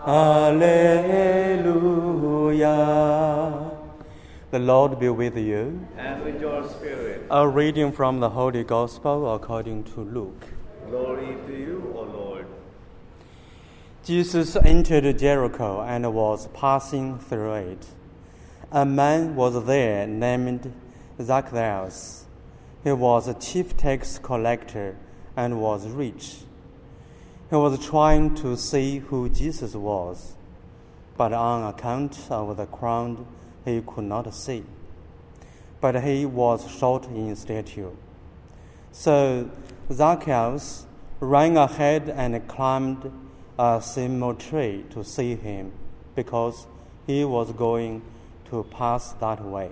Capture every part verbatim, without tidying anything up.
Alleluia. The Lord be with you. And with your spirit. A reading from the Holy Gospel according to Luke. Glory to you, O Lord. Jesus entered Jericho and was passing through it. A man was there named Zacchaeus. He was a chief tax collector and was rich. He was trying to see who Jesus was, but on account of the crowd, he could not see. But he was short in stature. So Zacchaeus ran ahead and climbed a sycamore tree to see him, because he was going to pass that way.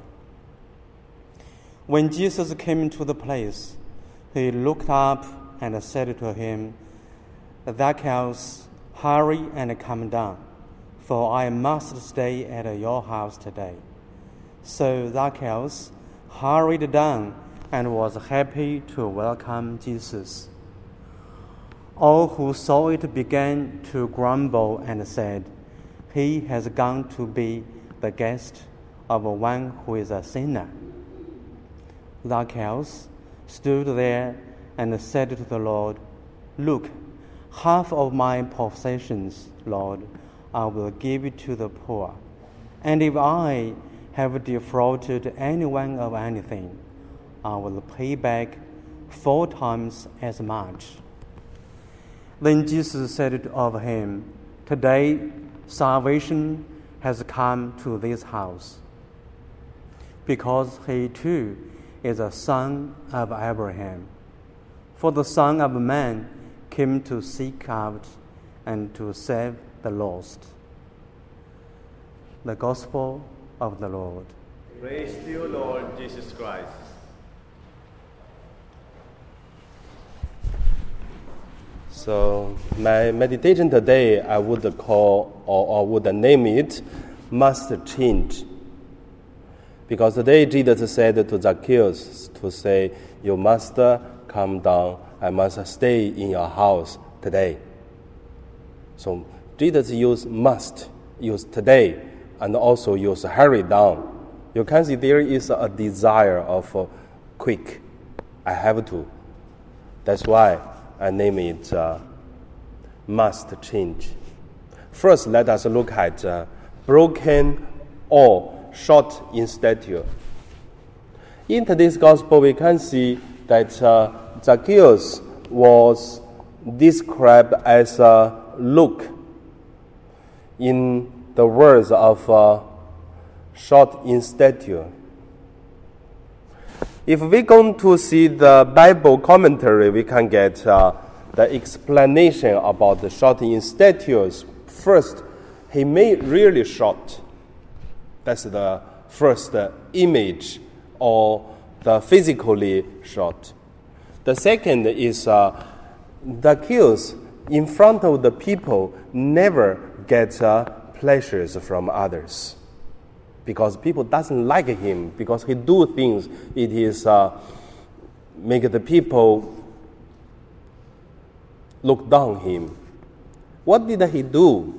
When Jesus came to the place, he looked up and said to him, Zacchaeus, hurry and come down, for I must stay at your house today. So Zacchaeus hurried down and was happy to welcome Jesus. All who saw it began to grumble and said, He has gone to be the guest of one who is a sinner. Zacchaeus stood there and said to the Lord, Look, half of my possessions, Lord, I will give to the poor. And if I have defrauded anyone of anything, I will pay back four times as much. Then Jesus said of him, Today salvation has come to this house, because he too is a son of Abraham. For the Son of Man came to seek out and to save the lost. The Gospel of the Lord. Praise to you, Lord Jesus Christ. So my meditation today, I would call or, or would name it, must change. Because today Jesus said to Zacchaeus to say, you must come down, I must stay in your house today. So Jesus used must, used today, and also used hurry down. You can see there is a desire of uh, quick, I have to. That's why I name it uh, must change. First, let us look at uh, broken or short in stature. In today's gospel, we can see that uh, Zacchaeus was described as a look in the words of uh, short in stature. If we're going to see the Bible commentary, we can get uh, the explanation about the short in stature. First, he made really short. That's the first uh, image, or the physically short. The second is uh, Zacchaeus, in front of the people, never gets uh, pleasures from others, because people doesn't like him, because he do things, it is uh, make the people look down him. What did he do?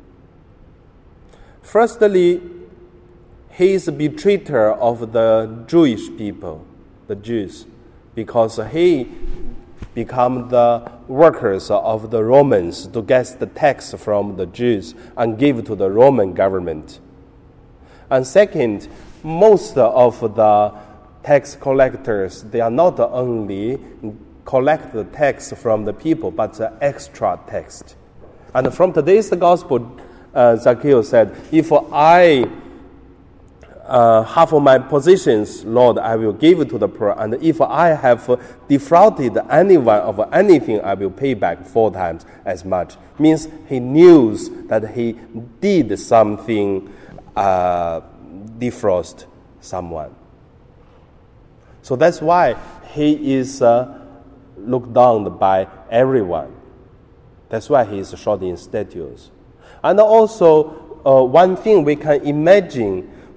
Firstly, he is a betrayer of the Jewish people, the Jews, because he become the workers of the Romans to get the tax from the Jews and give to the Roman government. And second, most of the tax collectors, they are not only collect the tax from the people, but the extra tax. And from today's gospel, uh, Zacchaeus said, if I uh, half of my possessions, Lord, I will give to the poor, and if I have defrauded anyone of anything, I will pay back four times as much. Means he knew that he did something uh, defraud someone. So that's why he is uh, looked down by everyone. That's why he is short in stature. And also, uh, one thing we can imagine,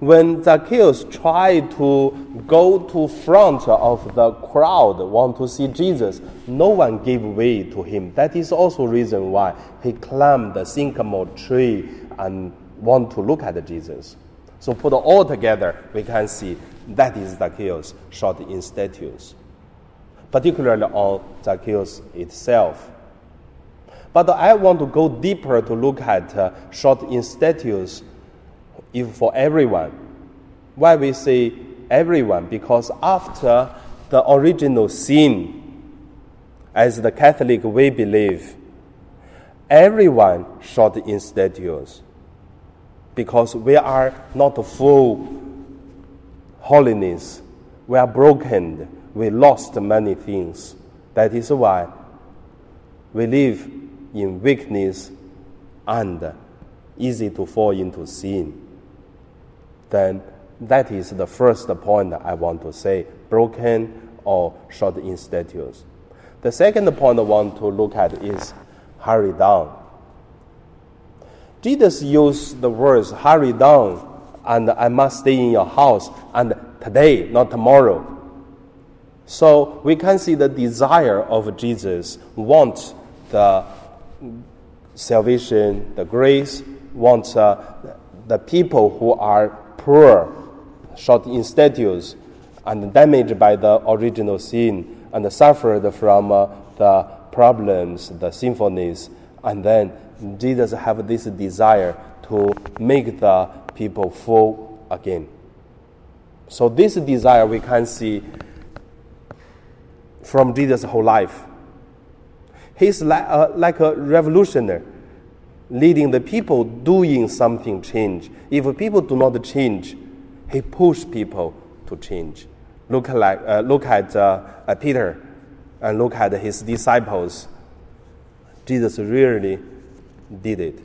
when Zacchaeus tried to go to front of the crowd, want to see Jesus, no one gave way to him. That is also reason why he climbed the sycamore tree and want to look at Jesus. So put all together, we can see that is Zacchaeus short in status, particularly on Zacchaeus itself. But I want to go deeper to look at uh, short in status if for everyone. Why we say everyone? Because after the original sin, as the Catholic we believe, everyone short in status. Because we are not full holiness. We are broken. We lost many things. That is why we live in weakness and easy to fall into sin. Then that is the first point I want to say, broken or short in status. The second point I want to look at is hurry down. Jesus used the words hurry down and I must stay in your house and today, not tomorrow. So we can see the desire of Jesus, want the salvation, the grace, wants uh, the people who are poor, short in status, and damaged by the original sin, and suffered from uh, the problems, the sinfulness, and then Jesus have this desire to make the people full again. So this desire we can see from Jesus' whole life. He's like a, like a revolutionary, leading the people doing something change. If people do not change, he pushes people to change. Look, like, uh, look at, uh, at Peter and look at his disciples. Jesus really did it.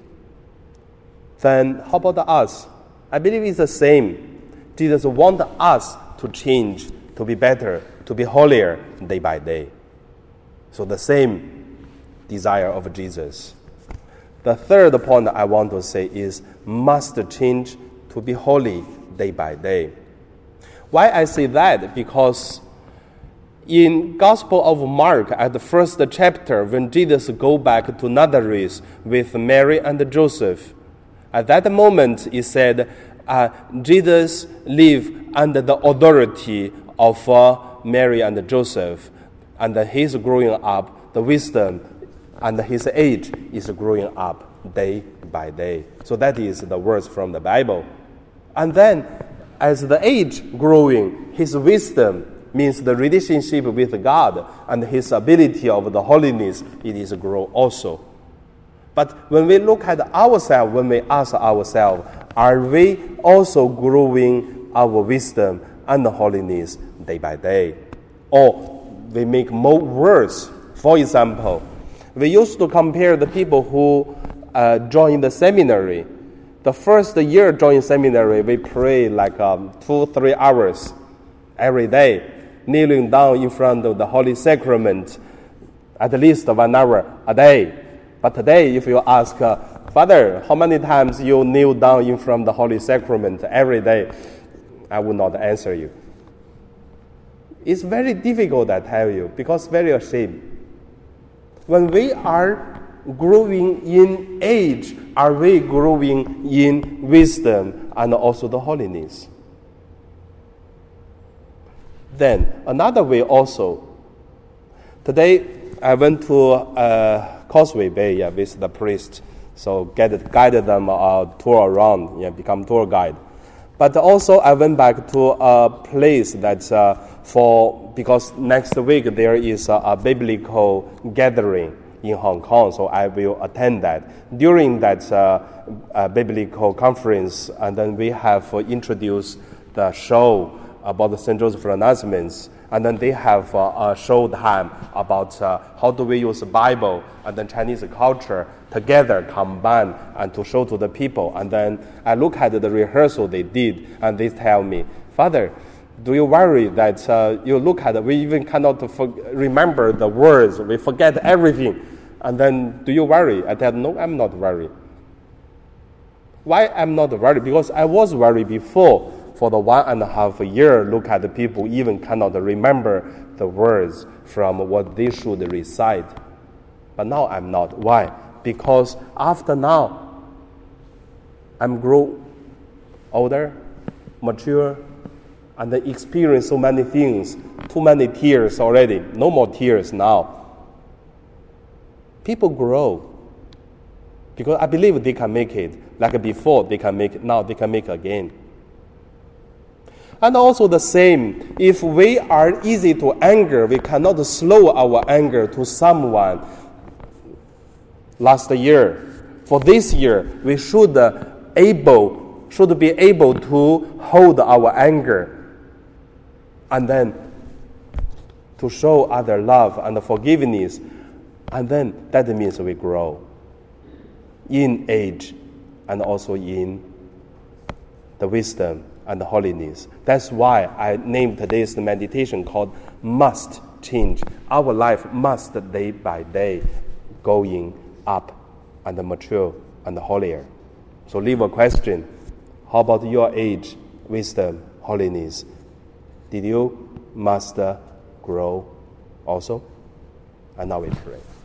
Then how about us? I believe it's the same. Jesus wants us to change, to be better, to be holier day by day. So the same desire of Jesus. The third point I want to say is must change to be holy day by day. Why I say that? Because in Gospel of Mark, at the first chapter, when Jesus go back to Nazareth with Mary and Joseph, at that moment it said, uh, Jesus lived under the authority of uh, Mary and Joseph, and he's growing up, the wisdom and his age is growing up day by day. So that is the words from the Bible. And then, as the age growing, his wisdom means the relationship with God and his ability of the holiness, it is grow also. But when we look at ourselves, when we ask ourselves, are we also growing our wisdom and holiness day by day? Or we make more worse. For example, we used to compare the people who uh, join the seminary. The first year join seminary, we pray like um, two, three hours every day, kneeling down in front of the Holy Sacrament, at least one hour a day. But today, if you ask, uh, Father, how many times you kneel down in front of the Holy Sacrament every day? I will not answer you. It's very difficult, I tell you, because very ashamed. When we are growing in age, are we growing in wisdom and also the holiness? Then, another way also. Today, I went to uh, Causeway Bay yeah, with the priest, so get, guided them a tour around, yeah, become tour guide. But also, I went back to a place that's uh, for, because next week there is a, a biblical gathering in Hong Kong, so I will attend that. During that uh, uh, biblical conference, and then we have uh, introduced the show about the Saint Joseph announcements, and then they have uh, a show time about uh, how do we use the Bible and then Chinese culture together, combine, and to show to the people. And then I look at the rehearsal they did, and they tell me, Father, do you worry that uh, you look at it, we even cannot for- remember the words, we forget everything. And then, do you worry? I said, no, I'm not worried. Why I'm not worried? Because I was worried before. For the one and a half year, look at the people even cannot remember the words from what they should recite. But now I'm not. Why? Because after now, I'm grow older, mature, and I experience so many things. Too many tears already. No more tears now. People grow. Because I believe they can make it. Like before, they can make it. Now they can make it again. And also the same, if we are easy to anger, we cannot slow our anger to someone. Last year, for this year, we should uh, able should be able to hold our anger, and then to show other love and forgiveness, and then that means we grow in age and also in the wisdom and the holiness. That's why I named today's meditation called Must Change. Our life must day by day going up and mature and holier. So leave a question. How about your age, wisdom, holiness? Did you must grow also? And now we pray.